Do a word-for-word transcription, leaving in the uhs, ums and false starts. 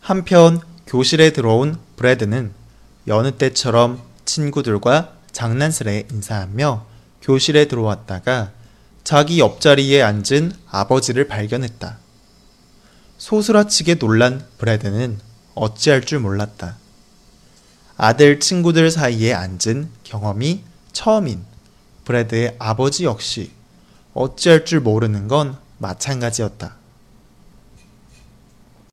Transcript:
한편 교실에 들어온 브래드는 여느 때처럼 친구들과 장난스레 인사하며 교실에 들어왔다가 자기 옆자리에 앉은 아버지를 발견했다. 소스라치게 놀란 브래드는 어찌할 줄 몰랐다. 아들 친구들 사이에 앉은 경험이 처음인 브래드의 아버지 역시 어찌할 줄 모르는 건 마찬가지였다.